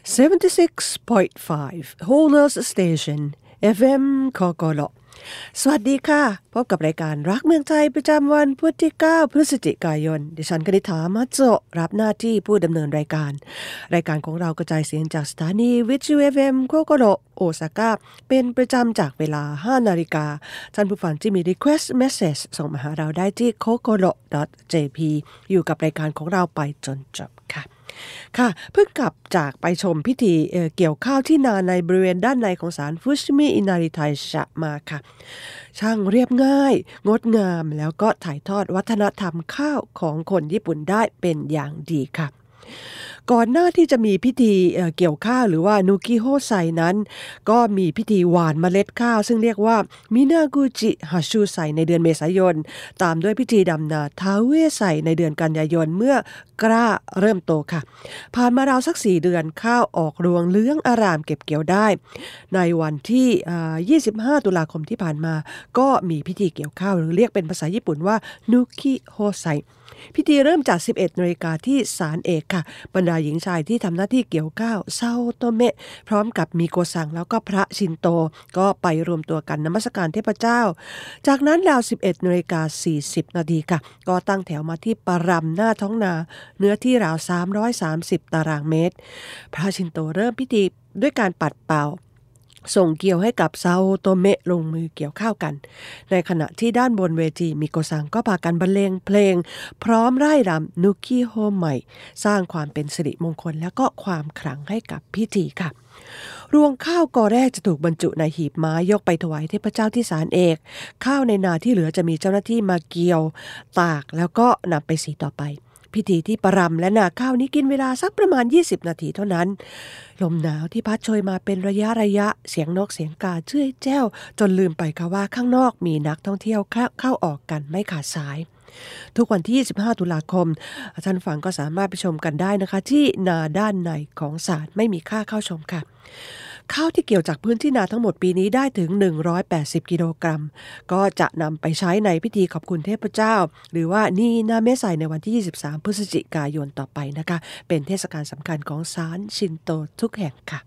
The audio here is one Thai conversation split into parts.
76.5 Whole Station FM คกลสวัสดีค่ะพบกับรายการรักเมืองไทยประจำวันพุธที่9พฤศจิกายนดิฉันกนิษฐามัจโจรับหน้าที่ผู้ดำเนินรายการของเรากระจายเสียงจากสถานีวิทยุ FM โคโกโรโอซาก้าเป็นประจำจากเวลา 5 นาฬิกาท่านผู้ฟังที่มี request message ส่งมาหาเราได้ที่ kokoro.jp อยู่กับรายการของเราไปจนจบค่ะเพิ่งกลับจากไปชมพิธีเกี่ยวข้าวที่นาในบริเวณด้านในของศาลฟุชิมิอินาริไทชะมาค่ะช่างเรียบง่ายงดงามแล้วก็ถ่ายทอดวัฒนธรรมข้าวของคนญี่ปุ่นได้เป็นอย่างดีค่ะก่อนหน้าที่จะมีพิธีเกี่ยวข้าวหรือว่านุกิโฮไซนั้นก็มีพิธีหว่านเมล็ดข้าวซึ่งเรียกว่ามินากุจิฮัชูไซในเดือนเมษายนตามด้วยพิธีดำนาทาเวไซในเดือนกันยายนเมื่อกล้าเริ่มโตค่ะผ่านมาราวสัก4เดือนข้าวออกรวงเหลืองอารามเก็บเกี่ยวได้ในวันที่25ตุลาคมที่ผ่านมาก็มีพิธีเกี่ยวข้าวหรือเรียกเป็นภาษาญี่ปุ่นว่านุกิโฮไซพิธีเริ่มจาก 11 น.ที่ศาลเอกค่ะบรรดาหญิงชายที่ทำหน้าที่เกี่ยวข้าวเซาโตเมะพร้อมกับมีโกซังแล้วก็พระชินโตก็ไปรวมตัวกันนมัสการเทพเจ้าจากนั้นราว 11 น.40 น.ค่ะก็ตั้งแถวมาที่ปรำหน้าท้องนาเนื้อที่ราว330ตารางเมตรพระชินโตเริ่มพิธีด้วยการปัดเป่าส่งเกี่ยวให้กับซาโอโตเมะลงมือเกี่ยวข้าวกันในขณะที่ด้านบนเวทีมิโกซังก็พากันบรรเลงเพลงพร้อมร่ายรำนุกิโฮใหม่สร้างความเป็นสิริมงคลและก็ความขลังให้กับพิธีค่ะรวงข้าวกอแรกจะถูกบรรจุในหีบไม้ยกไปถวายเทพเจ้าที่ศาลเอกข้าวในนาที่เหลือจะมีเจ้าหน้าที่มาเกี่ยวตากแล้วก็นำไปสีต่อไปพิธีที่ปรำและนาข้าวนี้กินเวลาสักประมาณ20นาทีเท่านั้นลมหนาวที่พัดโชยมาเป็นระยะเสียงนกเสียงกาเจ้ยแจ้วจนลืมไปค่ะว่าข้างนอกมีนักท่องเที่ยวเข้าออกกันไม่ขาดสายทุกวันที่25ตุลาคมท่านฟังก็สามารถไปชมกันได้นะคะที่นาด้านในของศาลไม่มีค่าเข้าชมค่ะข้าวที่เกี่ยวจากพื้นที่นาทั้งหมดปีนี้ได้ถึง180กิโลกรัมก็จะนำไปใช้ในพิธีขอบคุณเทพเจ้าหรือว่านีนาเมะไซในวันที่23พฤศจิกายนต่อไปนะคะเป็นเทศกาลสำคัญของศาลชินโตทุกแห่งค่ะ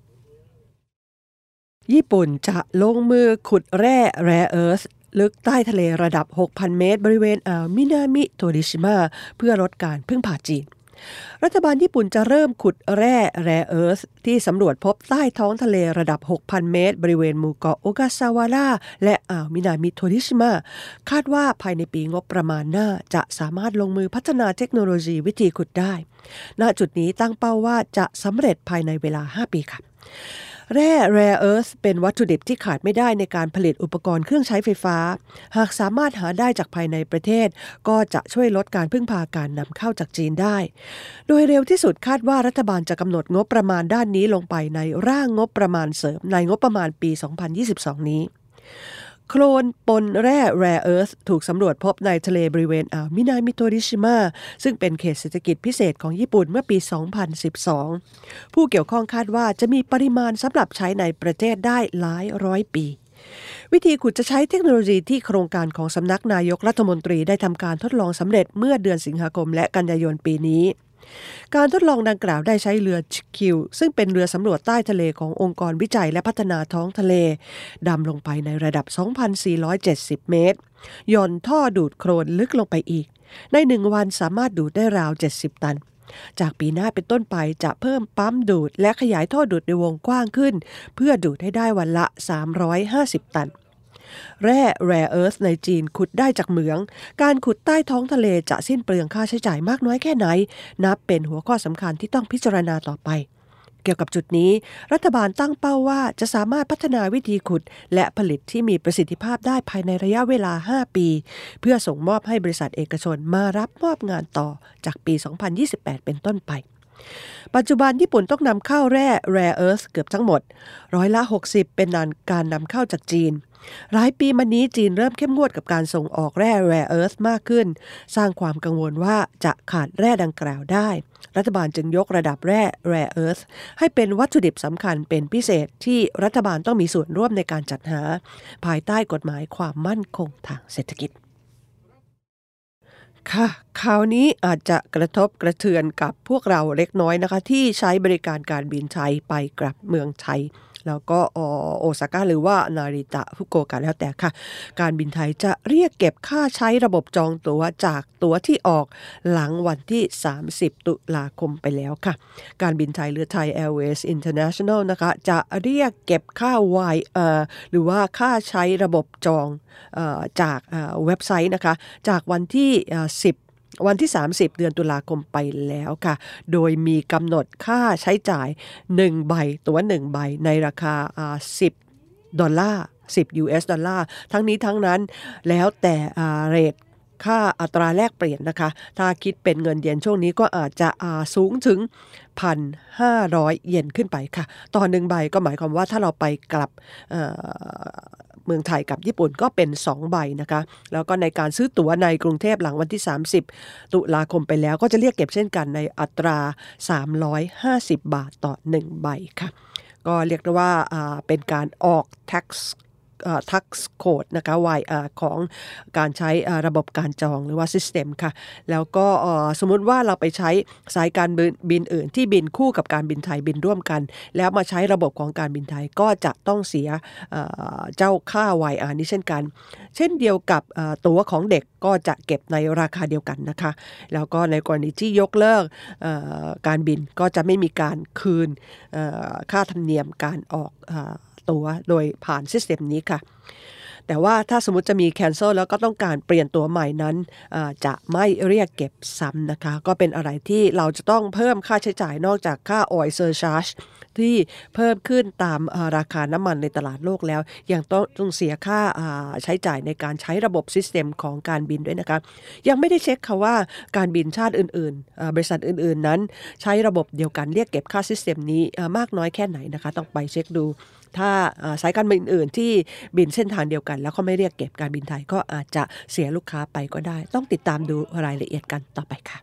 ญี่ปุ่นจะลงมือขุดแร่แรเอิร์ธลึกใต้ทะเลระดับ 6,000 เมตรบริเวณอ่าวมินามิโทริชิมะเพื่อลดการพึ่งพาจีนรัฐบาลญี่ปุ่นจะเริ่มขุดแร่แรเอิร์ธที่สำรวจพบใต้ท้องทะเลระดับ 6,000 เมตรบริเวณหมู่เกาะโอกาซาวาระและอ่าวมินามิโทริชิมะคาดว่าภายในปีงบประมาณหน้าจะสามารถลงมือพัฒนาเทคโนโลยีวิธีขุดได้ณจุดนี้ตั้งเป้าว่าจะสำเร็จภายในเวลา5ปีค่ะแร่แรเอิร์ธเป็นวัตถุดิบที่ขาดไม่ได้ในการผลิตอุปกรณ์เครื่องใช้ไฟฟ้าหากสามารถหาได้จากภายในประเทศก็จะช่วยลดการพึ่งพาการนำเข้าจากจีนได้โดยเร็วที่สุดคาดว่ารัฐบาลจะกำหนดงบประมาณด้านนี้ลงไปในร่างงบประมาณเสริมในงบประมาณปี 2022 นี้โคลนปนแร่แรเอิร์ธถูกสำรวจพบในทะเลบริเวณอ่าวมินามิโทริชิมะซึ่งเป็นเขตเศรษฐกิจพิเศษของญี่ปุ่นเมื่อปี 2012 ผู้เกี่ยวข้องคาดว่าจะมีปริมาณสำหรับใช้ในประเทศได้หลายร้อยปีวิธีขุดจะใช้เทคโนโลยีที่โครงการของสำนักนายกรัฐมนตรีได้ทำการทดลองสำเร็จเมื่อเดือนสิงหาคมและกันยายนปีนี้การทดลองดังกล่าวได้ใช้เรือชิคิวซึ่งเป็นเรือสำรวจใต้ทะเลขององค์กรวิจัยและพัฒนาท้องทะเลดำลงไปในระดับ 2,470 เมตรย่อนท่อดูดโคลนลึกลงไปอีกใน1วันสามารถดูดได้ราว70ตันจากปีหน้าเป็นต้นไปจะเพิ่มปั๊มดูดและขยายท่อดูดในวงกว้างขึ้นเพื่อดูดให้ได้วันละ350ตันแร่แรเอิร์ธในจีนขุดได้จากเหมืองการขุดใต้ท้องทะเลจะสิ้นเปลืองค่าใช้จ่ายมากน้อยแค่ไหนนับเป็นหัวข้อสำคัญที่ต้องพิจารณาต่อไปเกี่ยวกับจุดนี้รัฐบาลตั้งเป้าว่าจะสามารถพัฒนาวิธีขุดและผลิตที่มีประสิทธิภาพได้ภายในระยะเวลา5ปีเพื่อส่งมอบให้บริษัทเอกชนมารับมอบงานต่อจากปี 2028 เป็นต้นไปปัจจุบันญี่ปุ่นต้องนำเข้าแร่แรเอิร์ธเกือบทั้งหมด60%เป็นการนำเข้าจากจีนหลายปีมานี้จีนเริ่มเข้มงวดกับการส่งออกแร่แรเอิร์ธมากขึ้นสร้างความกังวลว่าจะขาดแร่ดังกล่าวได้รัฐบาลจึงยกระดับแร่แรเอิร์ธให้เป็นวัตถุดิบสำคัญเป็นพิเศษที่รัฐบาลต้องมีส่วนร่วมในการจัดหาภายใต้กฎหมายความมั่นคงทางเศรษฐกิจค่ะข่าวนี้อาจจะกระทบกระเทือนกับพวกเราเล็กน้อยนะคะที่ใช้บริการการบินไทยไปกลับเมืองไทยแล้วก็โอซาก้าหรือว่านาริตะฟุกุโอกะแล้วแต่ค่ะการบินไทยจะเรียกเก็บค่าใช้ระบบจองตั๋วจากตั๋วที่ออกหลังวันที่30ตุลาคมไปแล้วค่ะการบินไทยหรือ Thai Airways International นะคะจะเรียกเก็บค่า YR หรือว่าค่าใช้ระบบจองจากเว็บไซต์นะคะจากวันที่วันที่30เดือนตุลาคมไปแล้วค่ะโดยมีกำหนดค่าใช้จ่าย1ใบตั๋ว1ใบในราคา$10 US ดอลลาร์ทั้งนี้ทั้งนั้นแล้วแต่เรทค่าอัตราแลกเปลี่ยนนะคะถ้าคิดเป็นเงินเยนช่วงนี้ก็อาจจะสูงถึง 1,500 เยนขึ้นไปค่ะต่อ1ใบก็หมายความว่าถ้าเราไปกลับเมืองไทยกับญี่ปุ่นก็เป็น2ใบนะคะแล้วก็ในการซื้อตั๋วในกรุงเทพหลังวันที่30ตุลาคมไปแล้วก็จะเรียกเก็บเช่นกันในอัตรา350บาทต่อ1ใบค่ะก็เรียกได้ว่าเป็นการออก tax code นะคะ YR ของการใช้ระบบการจองหรือว่า system ค่ะแล้วก็สมมุติว่าเราไปใช้สายการบินอื่นที่บินคู่กับการบินไทยบินร่วมกันแล้วมาใช้ระบบของการบินไทยก็จะต้องเสียเจ้าค่า YR นี้เช่นกันเช่นเดียวกับตั๋วของเด็กก็จะเก็บในราคาเดียวกันนะคะแล้วก็ในกรณีที่ยกเลิกการบินก็จะไม่มีการคืนค่าธรรมเนียมการออกตั๋วโดยผ่านซิสเต็มนี้ค่ะแต่ว่าถ้าสมมติจะมี cancel แล้วก็ต้องการเปลี่ยนตั๋วใหม่นั้นจะไม่เรียกเก็บซ้ำนะคะก็เป็นอะไรที่เราจะต้องเพิ่มค่าใช้จ่ายนอกจากค่า oil surcharge ที่เพิ่มขึ้นตามราคาน้ำมันในตลาดโลกแล้วยังต้องเสียค่าใช้จ่ายในการใช้ระบบซิสเต็มของการบินด้วยนะคะยังไม่ได้เช็คค่ะว่าการบินชาติอื่นๆบริษัทอื่นๆนั้นใช้ระบบเดียวกันเรียกเก็บค่าซิสเต็มนี้มากน้อยแค่ไหนนะคะต้องไปเช็คดูถ้าสายการบินอื่นที่บินเส้นทางเดียวกันแล้วเขาไม่เรียกเก็บการบินไทยก็อาจจะเสียลูกค้าไปก็ได้ต้องติดตามดูรายละเอียดกันต่อไปค่ะ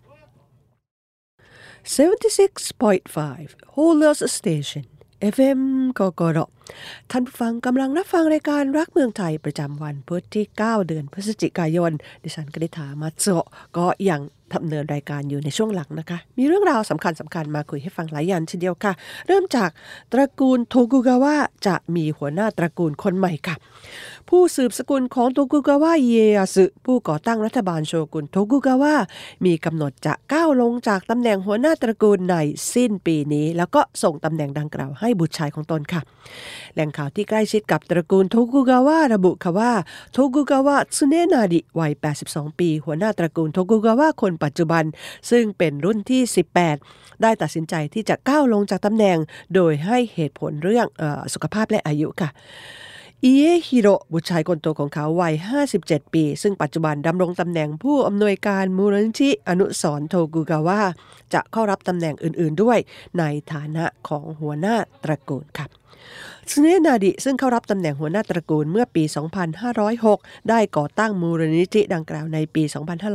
76.5 Holos Station FM กกรท่านผู้ฟังกำลังรับฟังรายการรักเมืองไทยประจำวันพุธที่9เดือนพฤศจิกายนดิฉันกนิษฐามัตโซะก็ยังดำเนินรายการอยู่ในช่วงหลังนะคะมีเรื่องราวสำคัญมาคุยให้ฟังหลายอย่างเช่นเดียวค่ะเริ่มจากตระกูลโทกุกาวะจะมีหัวหน้าตระกูลคนใหม่ค่ะผู้สืบสกุลของโทกุกาวะเอีเอยาสึผู้ก่อตั้งรัฐบาลโชกุนโทกุกาวะมีกำหนดจะก้าวลงจากตำแหน่งหัวหน้าตระกูลในสิ้นปีนี้แล้วก็ส่งตำแหน่งดังกล่าวให้บุตรชายของตนค่ะแหล่งข่าวที่ใกล้ชิดกับตระกูลโทกุกาวะระบุค่ะว่าโทกุกาวะซึเนะนาริวัย82ปีหัวหน้าตระกูลโทกุกาวะคนปัจจุบันซึ่งเป็นรุ่นที่18ได้ตัดสินใจที่จะก้าวลงจากตำแหน่งโดยให้เหตุผลเรื่องสุขภาพและอายุค่ะอิเอฮิโร่บุตรชายคนโตของเขาวัย57ปีซึ่งปัจจุบันดำรงตำแหน่งผู้อำนวยการมูลนิธิอนุสรณ์โทกุกาวะจะเข้ารับตำแหน่งอื่นๆด้วยในฐานะของหัวหน้าตระกูลค่ะซึเนะนาริซึ่งเข้ารับตำแหน่งหัวหน้าตระกูลเมื่อปี 2506 ได้ก่อตั้งมูลนิธิดังกล่าวในปี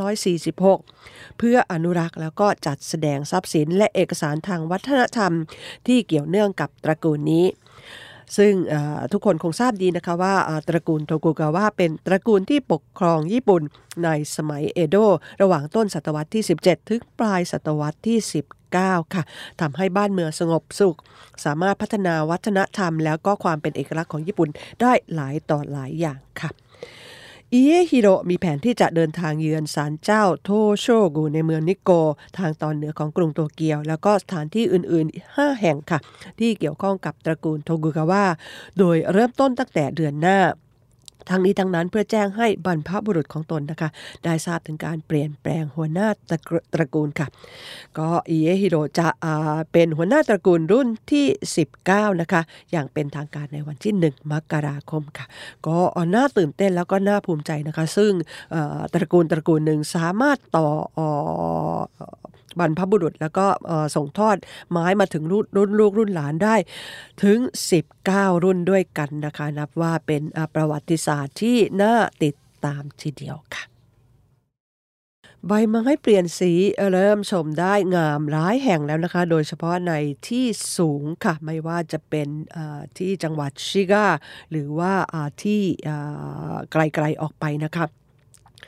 2546 เพื่ออนุรักษ์แล้วก็จัดแสดงทรัพย์สินและเอกสารทางวัฒนธรรมที่เกี่ยวเนื่องกับตระกูลนี้ซึ่งทุกคนคงทราบดีนะคะว่าตระกูลโทกุกาวะเป็นตระกูลที่ปกครองญี่ปุ่นในสมัยเอโดะระหว่างต้นศตวรรษที่17ถึงปลายศตวรรษที่19ค่ะทำให้บ้านเมืองสงบสุขสามารถพัฒนาวัฒนธรรมแล้วก็ความเป็นเอกลักษณ์ของญี่ปุ่นได้หลายต่อหลายอย่างค่ะอิเอฮิโร่มีแผนที่จะเดินทางเยือนศาลเจ้าโทโชกุในเมืองนิโกทางตอนเหนือของกรุงโตเกียวแล้วก็สถานที่อื่นๆ5แห่งค่ะที่เกี่ยวข้องกับตระกูลโทกุกาวะโดยเริ่มต้นตั้งแต่เดือนหน้าทั้งนี้ทั้งนั้นเพื่อแจ้งให้บรรพบุรุษของตนนะคะได้ทราบถึงการเปลี่ยนแปลงหัวหน้าตระกูลค่ะก็อิเอฮิโร่จะเป็นหัวหน้าตระกูลรุ่นที่19นะคะอย่างเป็นทางการในวันที่1มกราคมค่ะก็น่าตื่นเต้นแล้วก็น่าภูมิใจนะคะซึ่งตระกูลหนึ่งสามารถต่อบรรพบุรุษแล้วก็ส่งทอดไม้มาถึงรุ่นลูกรุ่นหลานได้ถึง19รุ่นด้วยกันนะคะนับว่าเป็นประวัติศาสตร์ที่น่าติดตามทีเดียวค่ะใบไม้เปลี่ยนสีเริ่มชมได้งามหลายแห่งแล้วนะคะโดยเฉพาะในที่สูงค่ะไม่ว่าจะเป็นที่จังหวัดชิกาหรือว่าที่ไกลๆออกไปนะคะ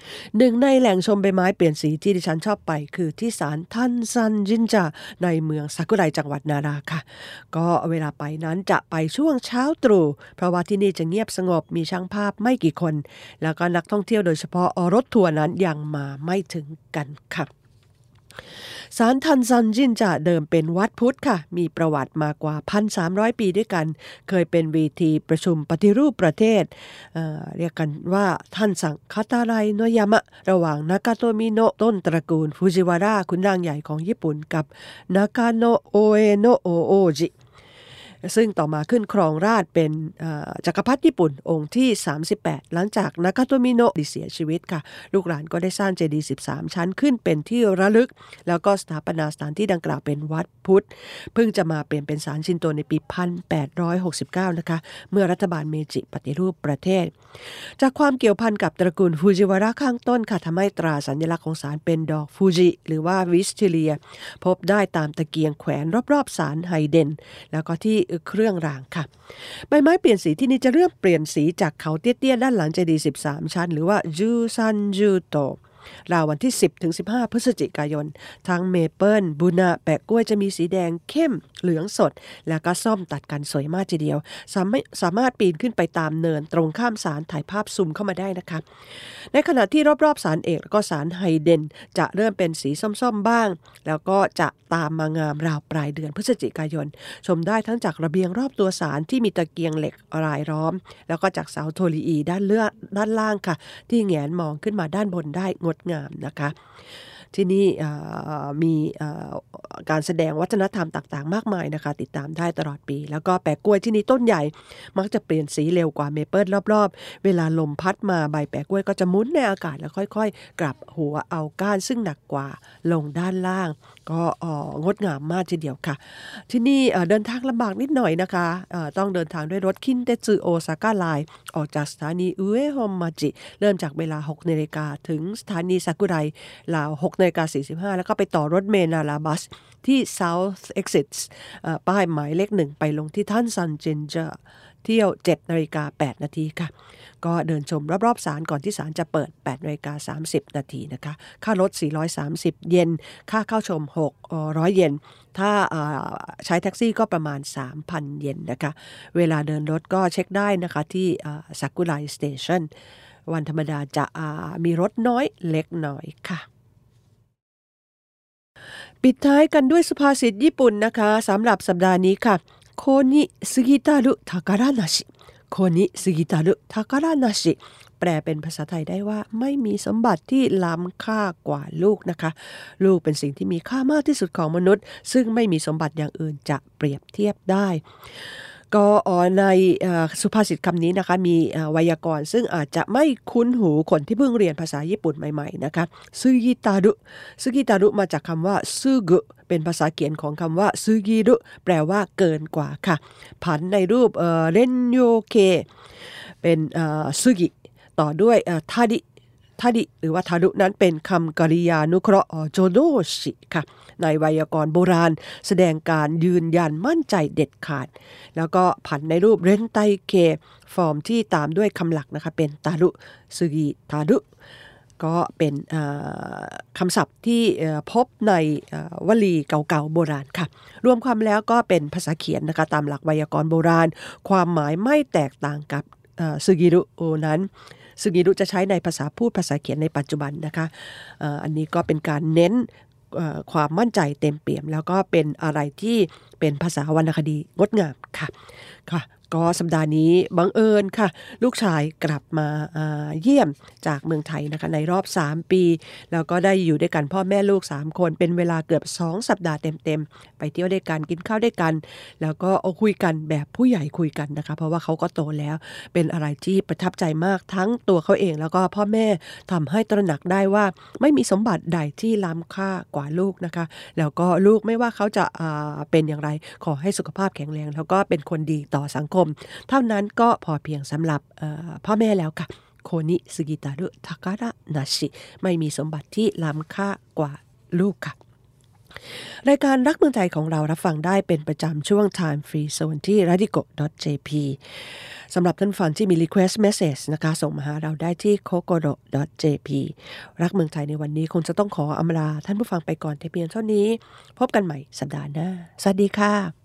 หนึ่งในแหล่งชมใบไม้เปลี่ยนสีที่ดิฉันชอบไปคือที่ศาลทันซันจินจาในเมืองซากุไรจังหวัดนาราค่ะก็เวลาไปนั้นจะไปช่วงเช้าตรู่เพราะว่าที่นี่จะเงียบสงบมีช่างภาพไม่กี่คนแล้วก็นักท่องเที่ยวโดยเฉพาะรถทัวร์นั้นยังมาไม่ถึงกันค่ะศาลทันซันจินจะเดิมเป็นวัดพุทธค่ะมีประวัติมากว่า 1,300 ปีด้วยกันเคยเป็นเวทีประชุมปฏิรูปประเทศเรียกกันว่าท่านสังคาตาไรโนยามะระหว่างนากาโตมิโนะต้นตระกูลฟูจิวาระขุนนางใหญ่ของญี่ปุ่นกับนากาโนะโอเอโนะโอโอจิซึ่งต่อมาขึ้นครองราชย์เป็นจักรพรรดิญี่ปุ่นองค์ที่38หลังจากนากาโตมิโนะเสียชีวิตค่ะลูกหลานก็ได้สร้างเจดีย์13ชั้นขึ้นเป็นที่ระลึกแล้วก็สถาปนาสถานที่ดังกล่าวเป็นวัดพุทธเพิ่งจะมาเปลี่ยนเป็นศาลชินโตในปี 1869 นะคะเมื่อรัฐบาลเมจิปฏิรูปประเทศจากความเกี่ยวพันกับตระกูลฟูจิวาระข้างต้นค่ะทำให้ตราสัญลักษณ์ของศาลเป็นดอกฟูจิหรือว่าวิสติเลียพบได้ตามตะเกียงแขวนรอบๆศาลไฮเดนแล้วก็ที่เครื่องรางค่ะใบไม้เปลี่ยนสีที่นี่จะเริ่มเปลี่ยนสีจากเขาเตี้ยๆด้านหลังเจดีย์13ชั้นหรือว่าจูซันจูโตราววันที่ 10-15 พฤศจิกายนทั้งเมเปิลบูนาแปะกล้วยจะมีสีแดงเข้มเหลืองสดแล้วก็ส้มตัดกันสวยมากทีเดียวสามารถปีนขึ้นไปตามเนินตรงข้ามศาลถ่ายภาพซูมเข้ามาได้นะคะในขณะที่รอบๆศาลเอกแล้วก็ศาลไฮเดนจะเริ่มเป็นสีส้มๆบ้างแล้วก็จะตามมางามราวปลายเดือนพฤศจิกายนชมได้ทั้งจากระเบียงรอบตัวศาลที่มีตะเกียงเหล็กรายล้อมแล้วก็จากเสาโทลีอีด้านล่างค่ะที่แงนมองขึ้นมาด้านบนได้งดงามนะคะที่นี่มีการแสดงวัฒนธรรมต่างๆมากมายนะคะติดตามได้ตลอดปีแล้วก็แปะกล้วยที่นี่ต้นใหญ่มักจะเปลี่ยนสีเร็วกว่าเมเปิลรอบๆเวลาลมพัดมาใบแปะกล้วยก็จะหมุนในอากาศแล้วค่อยๆกลับหัวเอาก้านซึ่งหนักกว่าลงด้านล่างก็งดงามมากทีเดียวค่ะที่นี่เดินทางลำบากนิดหน่อยนะคะต้องเดินทางด้วยรถคินเตสึโอซาก้าไลน์ออกจากสถานีอุเอะฮอมมาจิเริ่มจากเวลา 6:00 นถึงสถานีซากุไรราว 6:45 แล้วก็ไปต่อรถเมล์นาราบัสที่ South Exit ป้ายหมายเลข 1ไปลงที่ท่านซันเจนเจอร์เที่ยว 7:08 น.ค่ะก็เดินชมรอบๆศาลก่อนที่ศาลจะเปิด 8:30 น.นะคะค่ารถ430 เยนค่าเข้าชม600 เยนถ้าใช้แท็กซี่ก็ประมาณ 3,000 เยนนะคะเวลาเดินรถก็เช็คได้นะคะที่ซากุไรสเตชันวันธรรมดาจะมีรถน้อยเล็กน้อยค่ะปิดท้ายกันด้วยสุภาษิตญี่ปุ่นนะคะสำหรับสัปดาห์นี้ค่ะโคนิซึกิตารุทาการะนาชิโคนิซึกิตารุทาการะนาชิแปลเป็นภาษาไทยได้ว่าไม่มีสมบัติที่ล้ำค่ากว่าลูกนะคะลูกเป็นสิ่งที่มีค่ามากที่สุดของมนุษย์ซึ่งไม่มีสมบัติอย่างอื่นจะเปรียบเทียบได้ก็ในสุภาษิตคำนี้นะคะมีไวยากรณ์ซึ่งอาจจะไม่คุ้นหูคนที่เพิ่งเรียนภาษาญี่ปุ่นใหม่ๆนะคะซึกิตารุมาจากคำว่าซึกุเป็นภาษาเขียนของคำว่าซึกิรุแปลว่าเกินกว่าค่ะผันในรูปเรนโยเคเป็นซึกิต่อด้วยทาดิหรือว่าทารุนั้นเป็นคำกริยานุเคราะห์โจโดชิค่ะในไวยากรณ์โบราณแสดงการยืนยันมั่นใจเด็ดขาดแล้วก็ผันในรูปเรนไตเคฟอร์มที่ตามด้วยคำหลักนะคะเป็นตารุซึกิทารุก็เป็นคำศัพท์ที่พบในวลีเก่าๆโบราณค่ะรวมความแล้วก็เป็นภาษาเขียนนะคะตามหลักไวยากรณ์โบราณความหมายไม่แตกต่างกับซึกิรุนั้นซึกิรุจะใช้ในภาษาพูดภาษาเขียนในปัจจุบันนะคะอันนี้ก็เป็นการเน้นความมั่นใจเต็มเปี่ยมแล้วก็เป็นอะไรที่เป็นภาษาวรรณคดีงดงามค่ะก็สัปดาห์นี้บังเอิญค่ะลูกชายกลับมาเยี่ยมจากเมืองไทยนะคะในรอบ3ปีแล้วก็ได้อยู่ด้วยกันพ่อแม่ลูก3คนเป็นเวลาเกือบ2สัปดาห์เต็มๆไปเที่ยวด้วยกันกินข้าวด้วยกันแล้วก็คุยกันแบบผู้ใหญ่คุยกันนะคะเพราะว่าเขาก็โตแล้วเป็นอะไรที่ประทับใจมากทั้งตัวเขาเองแล้วก็พ่อแม่ทำให้ตระหนักได้ว่าไม่มีสมบัติใดที่ล้ำค่ากว่าลูกนะคะแล้วก็ลูกไม่ว่าเขาจะเป็นอย่างไรขอให้สุขภาพแข็งแรงแล้วก็เป็นคนดีต่อสังคมเท่านั้นก็พอเพียงสำหรับพ่อแม่แล้วค่ะโคนิซึกิตารุทาการะนาชิไม่มีสมบัติที่ล้ำค่ากว่าลูกค่ะรายการรักเมืองไทยของเรารับฟังได้เป็นประจำช่วง Time Free Zone ที่ radico.jp สำหรับท่านฟังที่มี request message นะคะส่งมาหาเราได้ที่ kokoro.jp รักเมืองไทยในวันนี้คงจะต้องขออำลาท่านผู้ฟังไปก่อนแต่เพียงเท่านี้พบกันใหม่สัปดาห์หน้าสวัสดีค่ะ